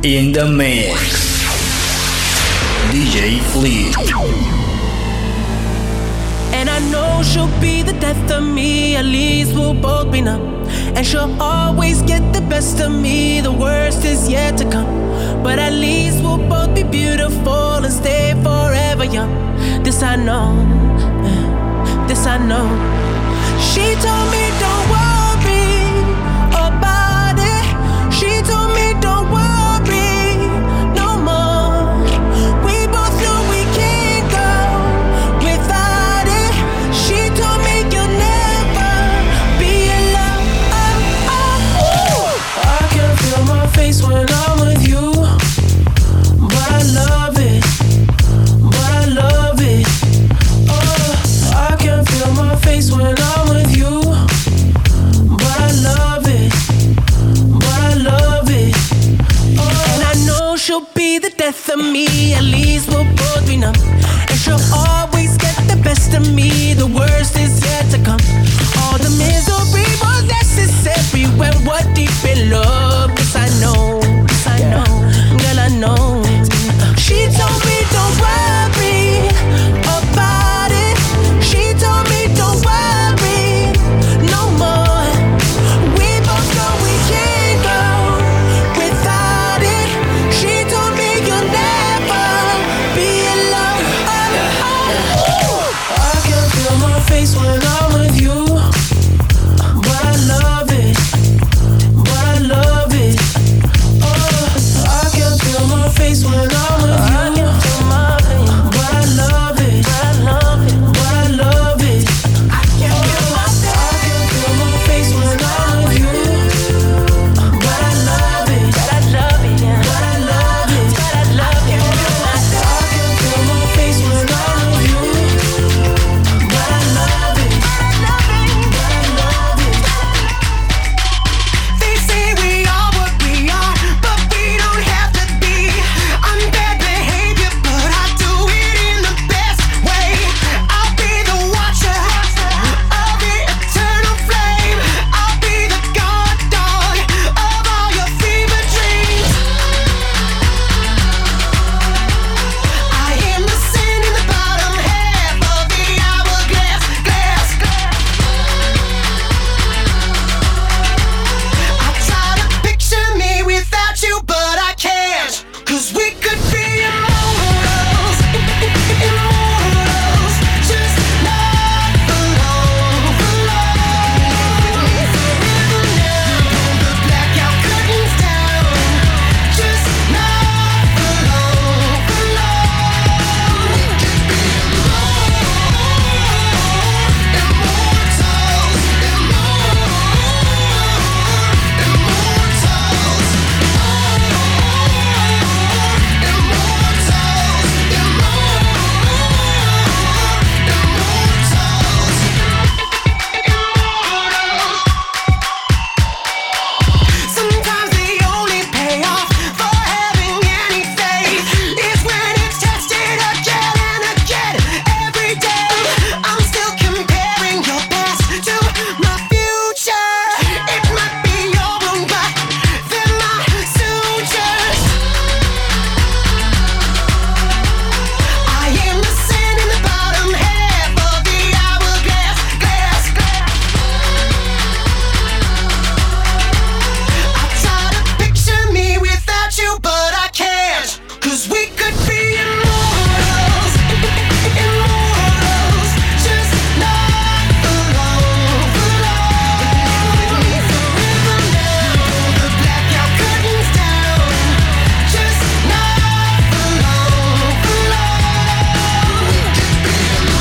In the mix, DJ Fleet. And I know she'll be the death of me, at least we'll both be numb. And she'll always get the best of me, the worst is yet to come. But at least we'll both be beautiful and stay forever young. This I know, this I know. She told me don't worry about it. She told me don't worry no more. We both know we can't go without it. She told me you'll never be alone. I can feel my face when I'm with you, but I love it, but I love it. I can feel my face when I'm with you, but I love it, but I love it. And I know she'll be the death of me, at least we'll both be numb. And she'll always get the best of me, the worst is yet to come. All the misery was necessary when we're deep in love. Yes, I know, yes, I know, girl, I know. She told me don't worry about it. She told me don't worry no more. We both know we can't go without it. She told me you'll never be alone. I can feel my face when I'm with you, but I love it, but I love it. I can feel my face when I'm with you, but I love it, but I love it. I can feel my face when I'm with you, but I love it, but I love it, but I love it, but I love it. I can feel my face when I'm with you, but I love it, but I love it. They say we are what we are, but we don't have to be. I'm bad behavior, but I do it in the best way. I'll be the watcher of the eternal flame. I'll be the guard dog of all your fever dreams. I am the sand in the bottom half of the hourglass. I try to picture me without you, but I can't. 'Cause we could be immortals, immortals, just not alone, alone. Forever now, the blackout curtains down, just not alone, alone. We could be immortals, sometimes the only payoff for having any faith is when it's tested again and again every day. I'm still comparing your past to my future. It might be your own, but they're my sutures. I am the sand in the bottom half of the hourglass. I try to picture me without you, but I can't. 'Cause we could be immortals, immortals, just not alone, alone. Forever now, the blackout curtains down, just not alone, alone. We could be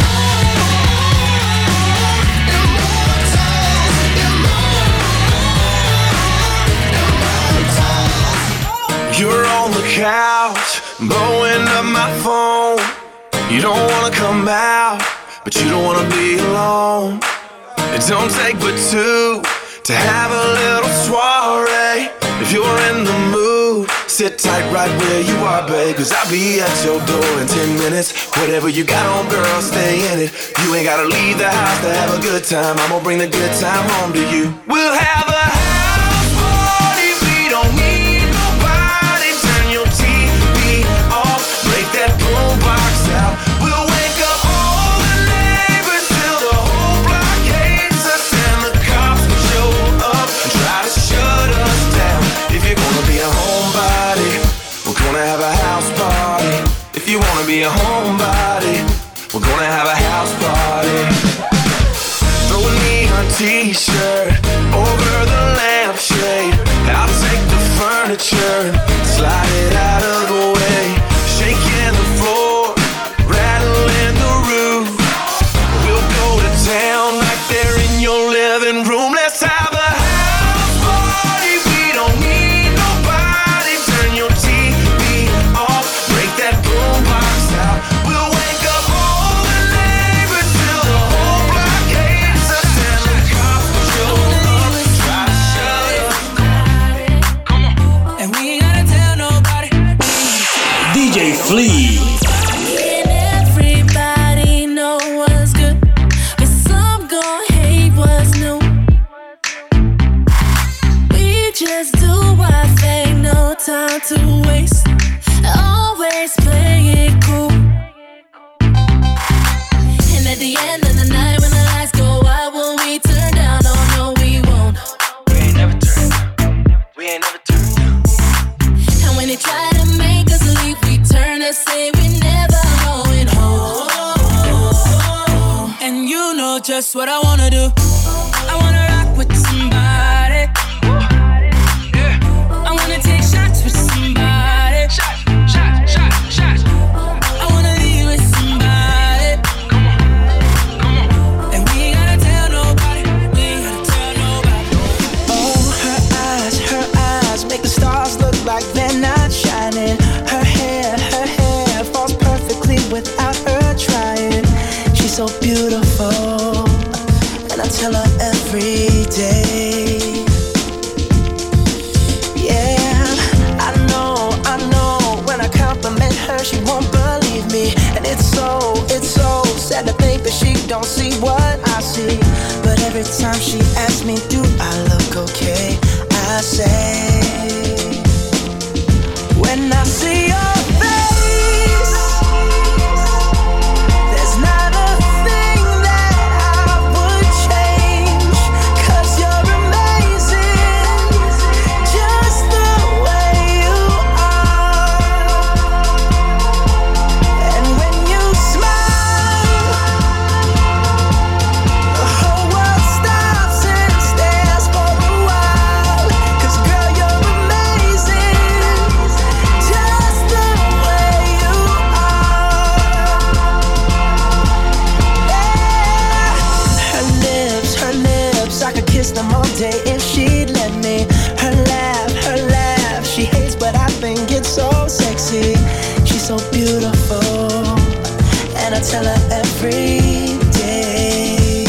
You're on the couch, blowing up my phone. You don't wanna come out, but you don't wanna be alone. It don't take but two to have a little soiree. If you're in the mood, sit tight right where you are, babe. 'Cause I'll be at your door in 10 minutes. Whatever you got on, girl, stay in it. You ain't gotta leave the house to have a good time. I'm gonna bring the good time home to you. We'll have a house party. We don't need nobody. Turn be a homebody. We're gonna have a house party. Throw a neon t-shirt over the lampshade. I'll take the furniture and slide it out of the way. Shaking the floor, rattling the roof. We'll go to town right there in your living room. Let's have a house party. We don't need nobody. Turn your TV off, break that boombox out. We'll wake up all the neighbors till the whole block hates us. And the cops will show up, try to shut us. Come on. And we ain't gotta tell nobody. DJ Flea. And everybody know what's good, but some gon' hate what's new. We just do our thing, no time to waste. Always play it cool. And at the end of the night, when the lights go out, will we turn down? Oh no, we won't. We ain't never turned down. We ain't never turned down. And when they try to make us leave, we turn and say we never going home. And you know just what I wanna do. I wanna rock with somebody. I wanna take shots with somebody. Shots. I wanna leave with somebody. And we ain't gotta tell nobody. We ain't gotta tell nobody. Oh, her eyes make the stars look like they're not shining. Her hair falls perfectly without her trying. She's so beautiful, and I tell her every day. Yeah, I know, when I compliment her, she won't believe me. And it's so sad to think that she don't see what I see. But every time she asks me, do I look okay? I say, when I see your face, there's not a thing that I would change. 'Cause you're amazing, just the way you are. And when you smile, the whole world stops and stares for a while. 'Cause girl, you're amazing, just the way you are. Yeah. Her lips, I could kiss them all day if she'd let me. Her laugh, she hates but I think it's so sexy. She's so beautiful, and I tell her every day.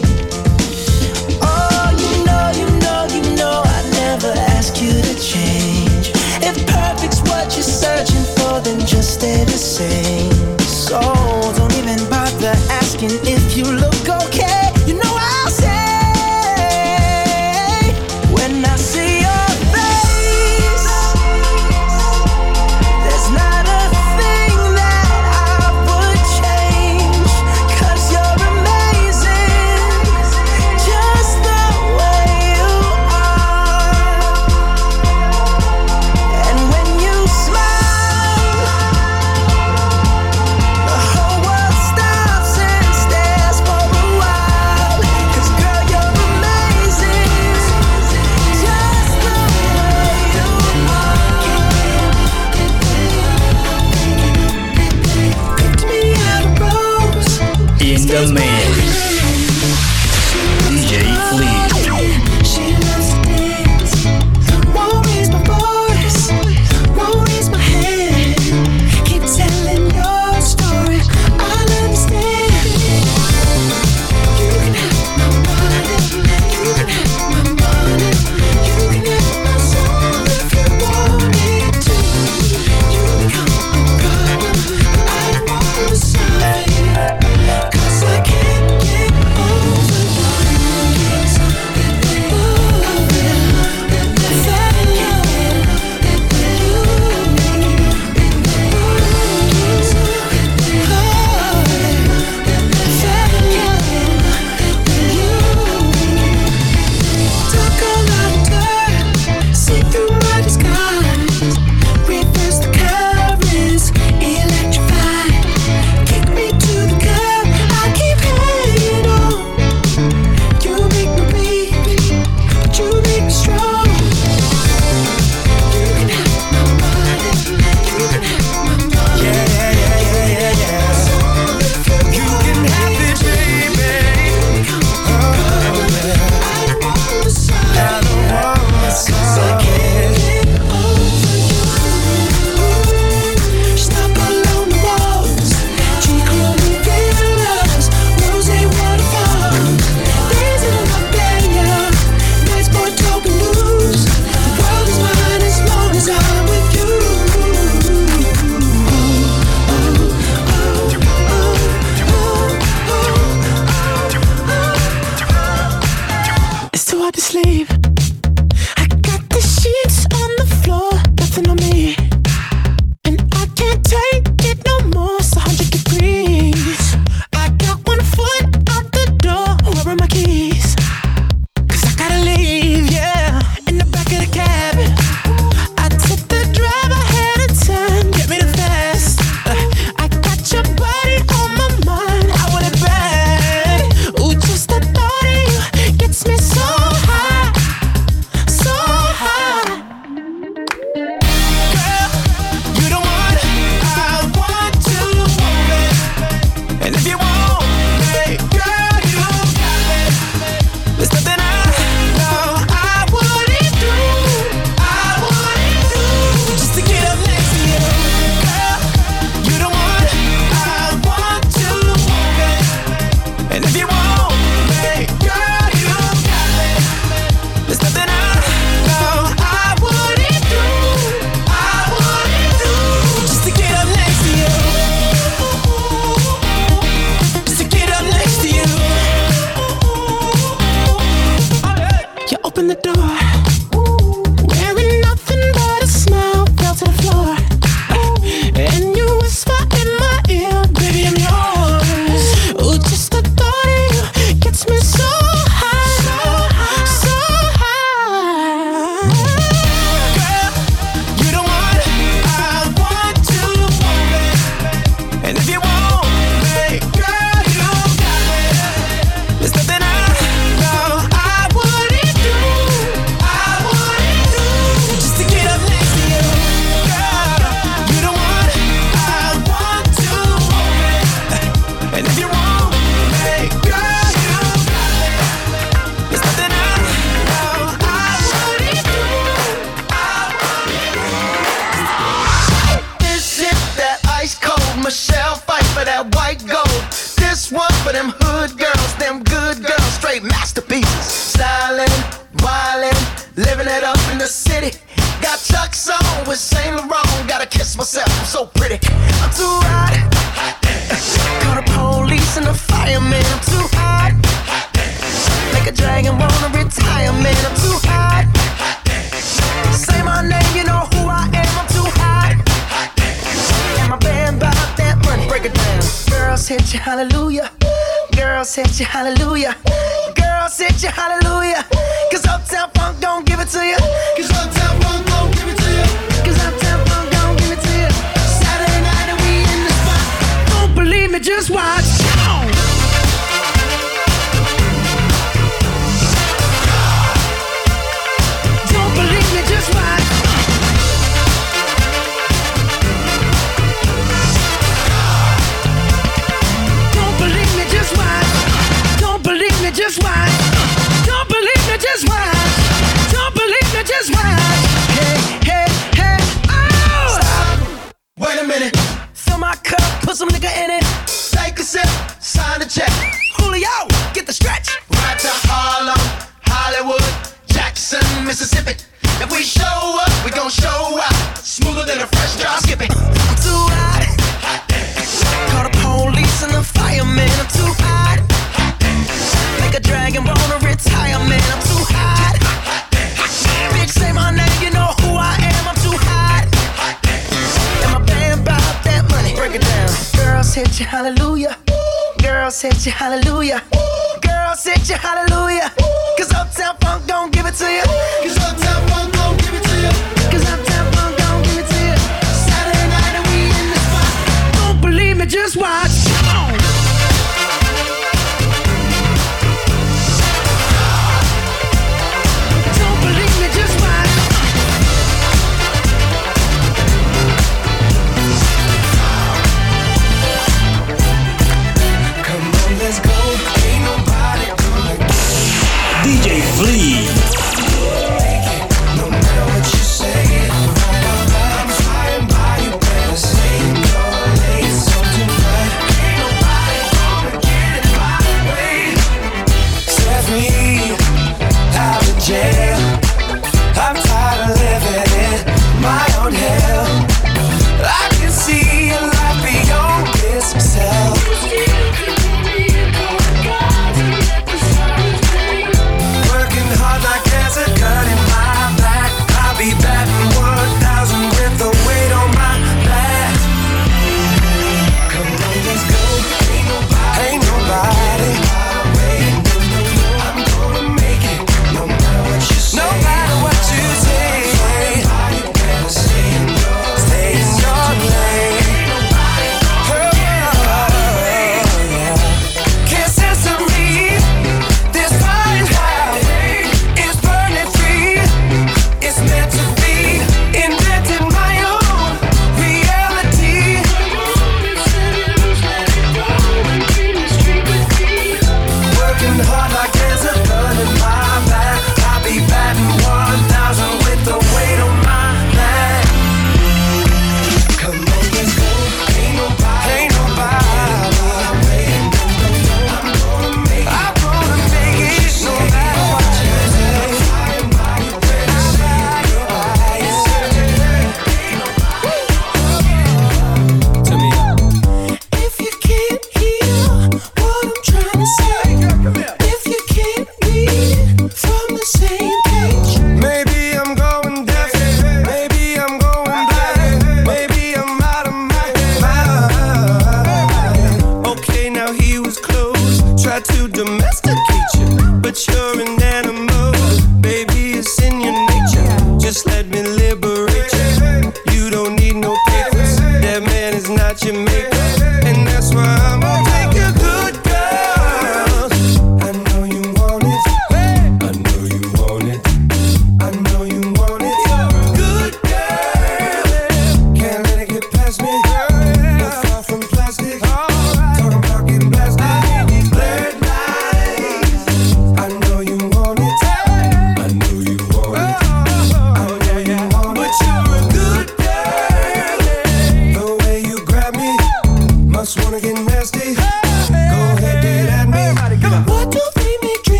Oh, you know, I never ask you to change. If perfect's what you're searching for, then just stay the same. So don't even bother asking if you look okay. You know I'll say, when I see your face, there's not a thing that I would change. 'Cause you're amazing, just the way you are. And when you smile, the whole world stops and stares for a while. 'Cause girl, you're amazing, just the way you are. Picked me out a rose, In the mix. DJ Flea. she loves to dance, won't raise my voice, won't raise my hand. Keep telling your story, I'll understand. You can have my money, you can have my money, you can have my soul if you wanted to. You become a problem, I don't wanna solve it. 'Cause I can't Michelle fight for that white gold. This one for them hood girls, them good girls, straight masterpieces. Stylin', wildin', living it up in the city. Got Chuck's on with Saint Laurent. Gotta kiss myself, I'm so pretty. I'm too hot. Call the police and the fireman. I'm too hot. Make a dragon wanna retire, man. I'm too hot. Say my name, you know who I am. I'm too hot. And my band bought that money. Break it down. Girls hit you, hallelujah. Girls hit you, hallelujah. Girls hit you, hallelujah. Cause Uptown Funk gon' give it to you. Cause Uptown Funk gon' give it to you. Cause Uptown Funk gon' give it to you. Saturday night and we in the spot. Don't believe me, just watch. Don't believe me, just watch. Don't believe me, just watch. Don't believe me, just watch. Don't believe me, just watch. Don't believe me, just watch. Hey, hey, hey, oh! Stop. Wait a minute. Fill my cup, put some nigga in it. Take a sip, sign the check. Julio, get the stretch. Right to Harlem, Hollywood, Jackson, Mississippi. If we show up, we gon' show out. Smoother than a fresh drop skipping. I'm too hot. Call the police and the fireman. I'm too hot. Make a dragon wanna retire, man. I'm too hot. Bitch, say my name, you know who I am. I'm too hot. And my band bought that money. Break it down. Girls hit you, hallelujah. Girls hit you, hallelujah. Girls hit you, hallelujah. Cause Uptown Funk gon' give it to you. Cause Uptown Funk gon' give it to you. Cause Uptown Funk gon' give it to you. Saturday night and we in the spot. Don't believe me, just watch. Come on. Don't believe me, just watch. Come on, let's go. Ain't nobody gonna DJ Flea. no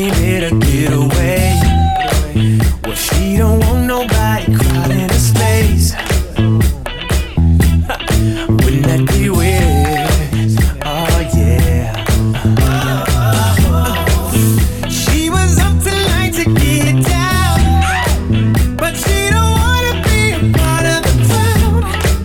baby to get away. Well, she don't want nobody crowding her space. Wouldn't that be weird? Oh yeah. She was up tonight to get down, but she don't wanna be a part of the crowd.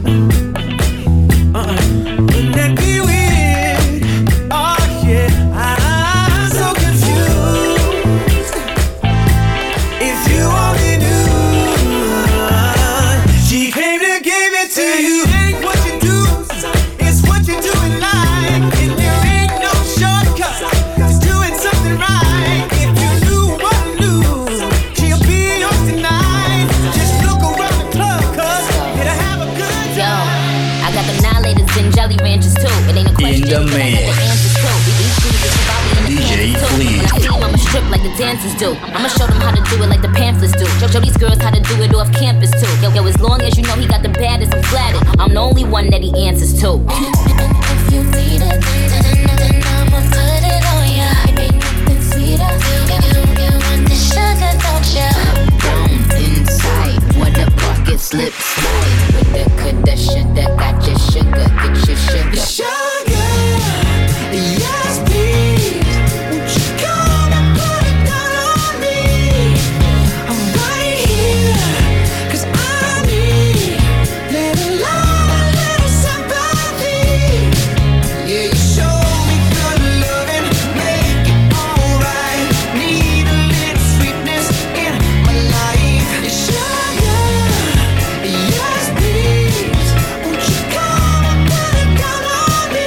Wouldn't that be weird? Oh yeah. I'm so confused. If you only knew, she came to give it to you. Ain't what you do, it's what you do in life. And there ain't no shortcut to doing something right. If you knew what I knew, she'll be yours tonight. Just look around the club, cause it'll have a good Yo, time. I got the annihilators and jelly ranchers too. It ain't a question, the but I got mix. the answers too. These dudes is probably in the DJ Panthers too. Flea. When I see them, I'ma strip like the dancers do. I'ma show them how to do it like the Panthers do. Show these girls how to do it off campus too. Yo, as long as you know he got the baddest, I'm flattered. I'm the only one that he answers to. If you need it, then I'ma put it on ya. Ain't nothing sweeter. You want the sugar, don't ya? Bones inside, what a bucket slip slide. With the coulda, shoulda, got your sugar, get your sugar. Sugar, yes please. Won't you come and put it down on me? I'm right here, cause I need little love, a little sympathy. Yeah, you show me good loving, make it alright. Need a little sweetness in my life. Sugar, yes please. Won't you come and put it down on me?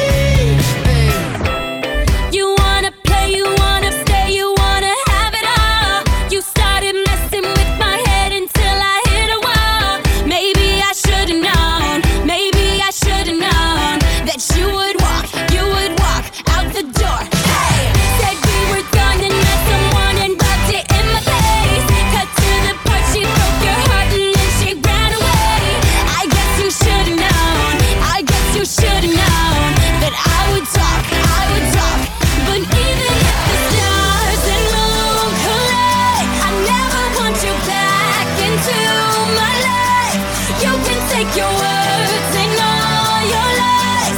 You wanna play, you wanna stay, you wanna have it all. You started messing with my head until I hit a wall. Maybe I should've known, maybe I should've known that you would walk out the door. Hey, said we were done and met someone and rubbed it in my face. Cut to the part, she broke your heart and then she ran away. I guess you should've known, I guess you should've known that I would talk. But even if the stars and moon collide, I never want you back into my life. You can take your words and all your lies.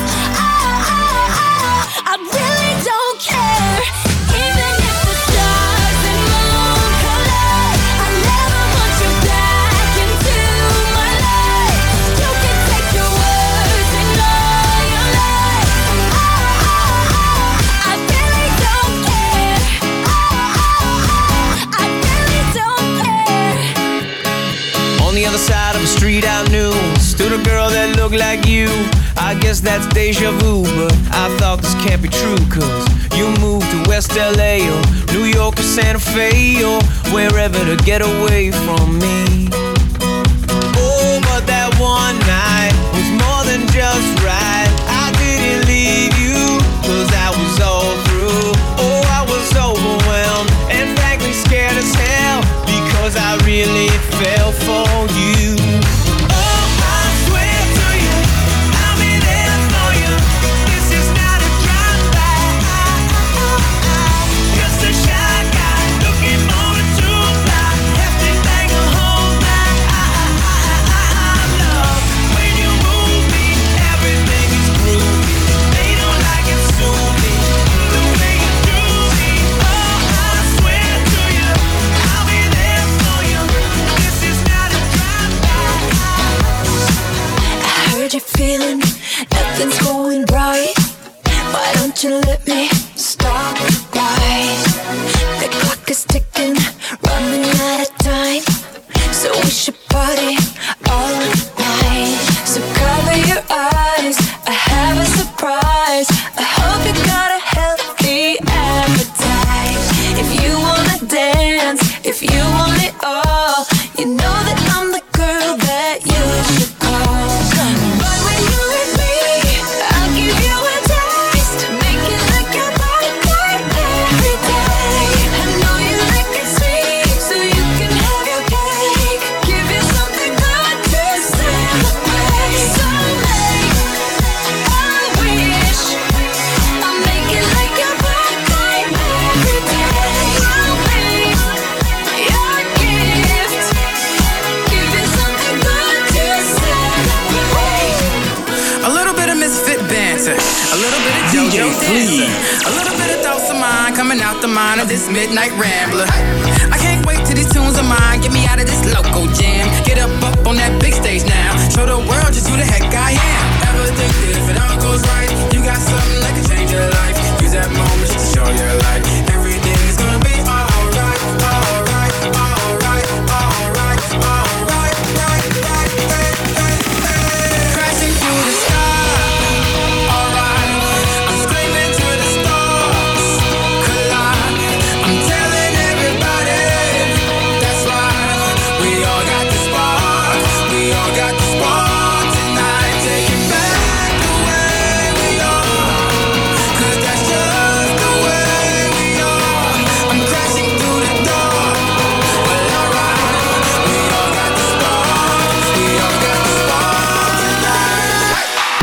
I really don't care. Even if the stars and moon collide, I never want you back into my life. You can take your words and all your lies. I really don't care. I really don't care. On the other side of the street I knew stood a girl that looked like you. I guess that's deja vu, but I thought this can't be true. Cause you moved to West LA or New York or Santa Fe or wherever to get away from me. Oh, but that one night was more than just right. I didn't leave you cause I was all through. Oh, I was overwhelmed and frankly scared as hell because I really fell for you. Oh, I swear to you, I'll be there for you. This is not a drive-by. Just a shy guy looking for a two-fly. Have to bang a whole night. Love when you move me, everything is groovy. They don't like it, sue me the way you do me. Oh, I swear to you, I'll be there for you. This is not a drive-by. I heard you feeling nothing's going right. Why don't you let me start right? The clock is ticking, running out of time. So we should party all night. So cover your eyes, I have a surprise. I hope you got a healthy appetite. If you wanna dance, if you want it all, you know that I'm the girl that you should call. But when you're with me, I'll give you a taste. Make it like your body part every day. I know you like it sweet, so you can have your cake. Give you something good to celebrate. So make a wish. I'll make it like your body part every day. Flea. A little bit of thoughts of mine coming out the mind of this midnight rambler. I can't wait till these tunes of mine get me out of this local jam. Get up on that big stage now. Show the world just who the heck I am. Ever think that if it all goes right, you got something that can change your life? Use that moment just to show your light. Everything is gonna be alright, alright, alright, alright, alright, right, right, crashing through the sky. Alright, I'm screaming to the stars. Collide. I'm telling everybody that's right. We all got the spark. We all got the spark tonight. Take it back the way we are. 'Cause that's just the way we are. I'm crashing through the dark. Well, alright. We all got the spark. We all got the spark tonight.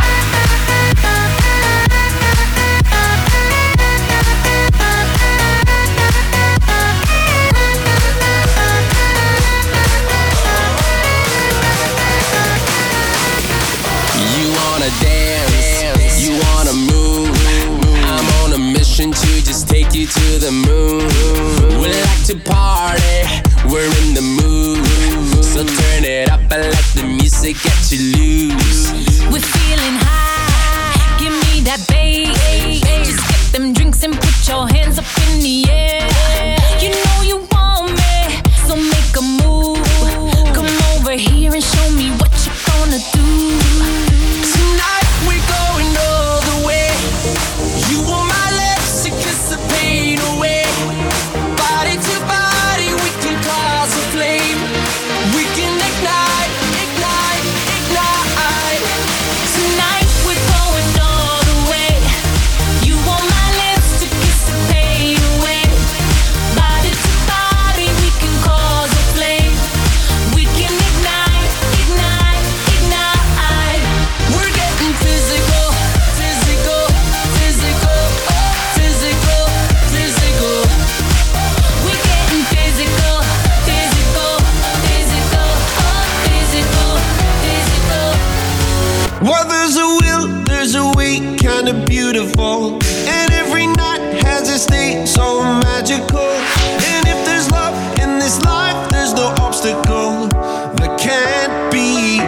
You wanna dance, you wanna move. I'm on a mission to just take you to the moon. We like to party, we're in the mood. So turn it up and let the music get you loose. We're feeling high, give me that bass. Just get them drinks and put your hands up in the air. You know you want me, so make a move. Come over here and show me what you're gonna do. Tonight we're going all the way. You want my lips to kiss the pain away. Body to body, we can cause a flame. We can ignite, ignite, ignite. Tonight we're going all the way. You want my lips to kiss the pain away. Body to body, we can cause a flame. We can ignite, ignite, ignite. We're getting physical, physical, physical, physical, physical. We're getting physical, physical, physical, physical, physical. Well, there's a will, there's a way, kinda beautiful. And every night has a state so magical. And if there's love in this life, there's no obstacle that can't be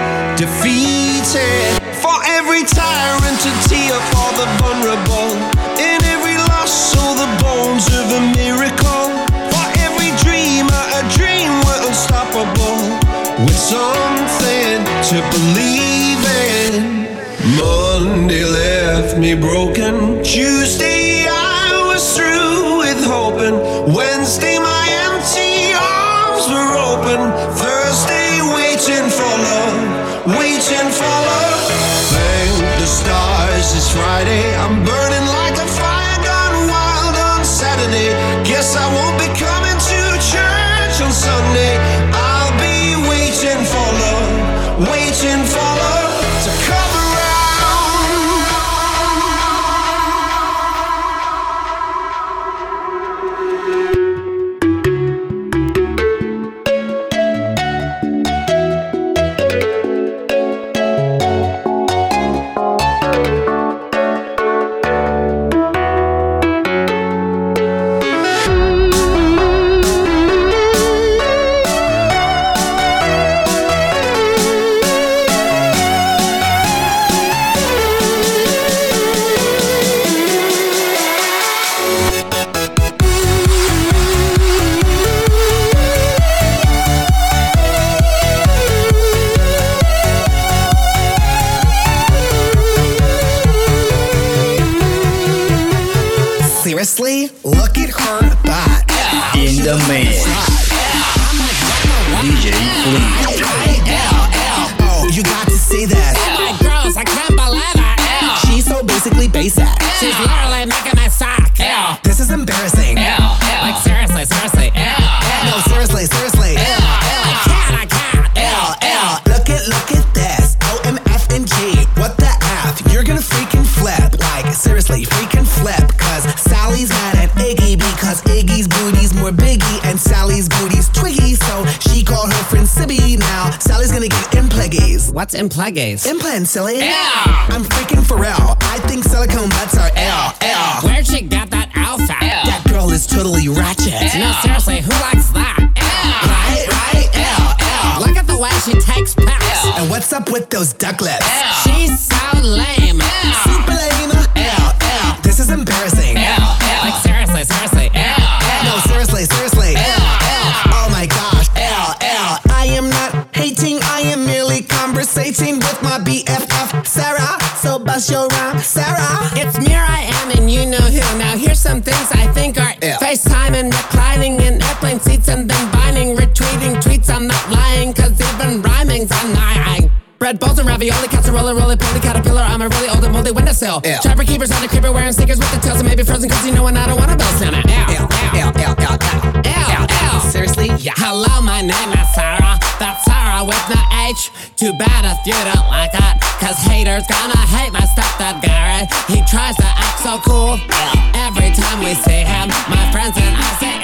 defeated. For every tyrant to tear for the vulnerable. In every loss, all the bones of a miracle. For every dreamer, a dream we're unstoppable. With something to believe in. Monday left me broken. Tuesday I was through with hoping. Wednesday my empty arms were open. Thursday waiting for love, waiting for love. Thank the stars it's Friday. I'm burning like a fire gone wild on Saturday. Guess I won't be coming to church on Sunday. I'll be waiting for love, waiting for love to come around. Seriously? Look at her butt. In the man. DJ Flea. Oh, you got to see this. Oh my girls, I can't believe it. Ew. She's so basically basic. She's literally making my sock. Ew. This is embarrassing. Ew. Ew. Like seriously, seriously. Ew. Ew. No, seriously, seriously. Ew. Ew. I can't. Ew. Ew. Look at this. OMF and G. What the F? You're gonna freaking flip. Like, seriously, freaking flip. Cause Sally's mad at Iggy because Iggy's booty's more big Twiggy, and Sally's booty's twiggy, so she called her friend Sibby. Now Sally's gonna get impleggies. What's impleggies? Implants, silly. Yeah. I'm freaking Pharrell. I think silicone butts are L. Where'd she get that outfit? That girl is totally ratchet. No, seriously, who likes that? Right, L. Look at the way she takes pics. And what's up with those duck lips? She's so lame. Super lame. L. This is embarrassing. Like seriously. No, seriously. Oh my gosh. L. I am not hating. I am merely conversating with my BFF, Sarah. So bust your rhyme, Sarah. It's me, I am, and you know who. Now here's some things I think are FaceTime and reclining in airplane seats and then binding, retweeting tweets. I'm not lying, cause even rhyming's annoying. Red balls and ravioli, casserole, roly-poly, caterpillar. I'm a really old and moldy windowsill. Trapper keepers on the creeper wearing sneakers with the tails and maybe frozen cause you know and I don't wanna build Santa. Seriously? Yeah. Hello, my name is Sarah. That's Sarah with no H. Too bad if you don't like it, cause haters gonna hate my stepdad Gary. He tries to act so cool. Every time we see him, my friends and I say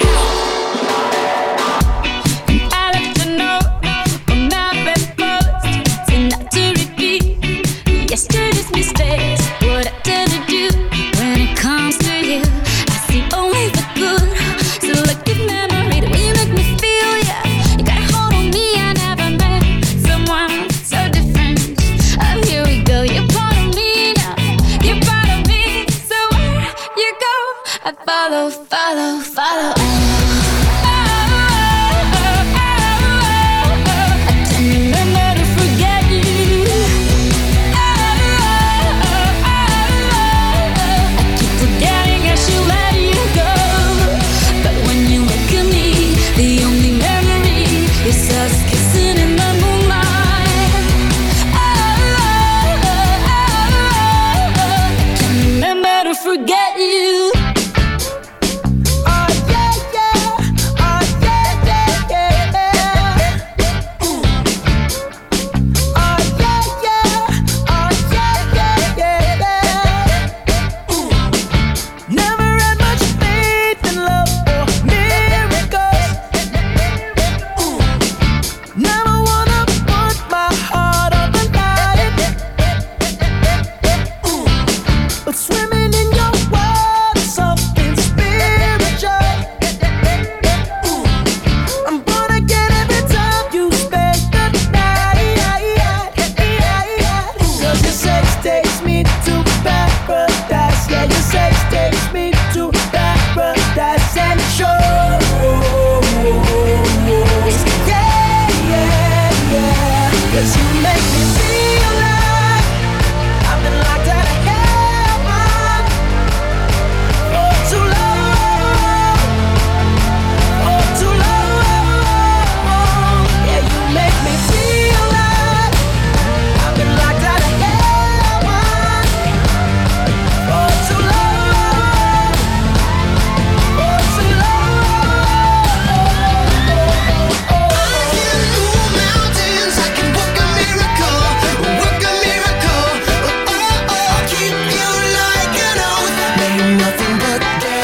I left a note on my bedpost, so not to repeat yesterday's mistakes. What I tend to do when it comes to you, I see only the good. Selective memory, the way you make me feel, yeah. You got a hold on me, I never met someone so different. Oh, here we go, you're part of me now, you're part of me. So where you go, I follow. Forget you.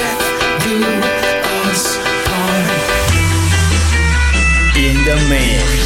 In the mix.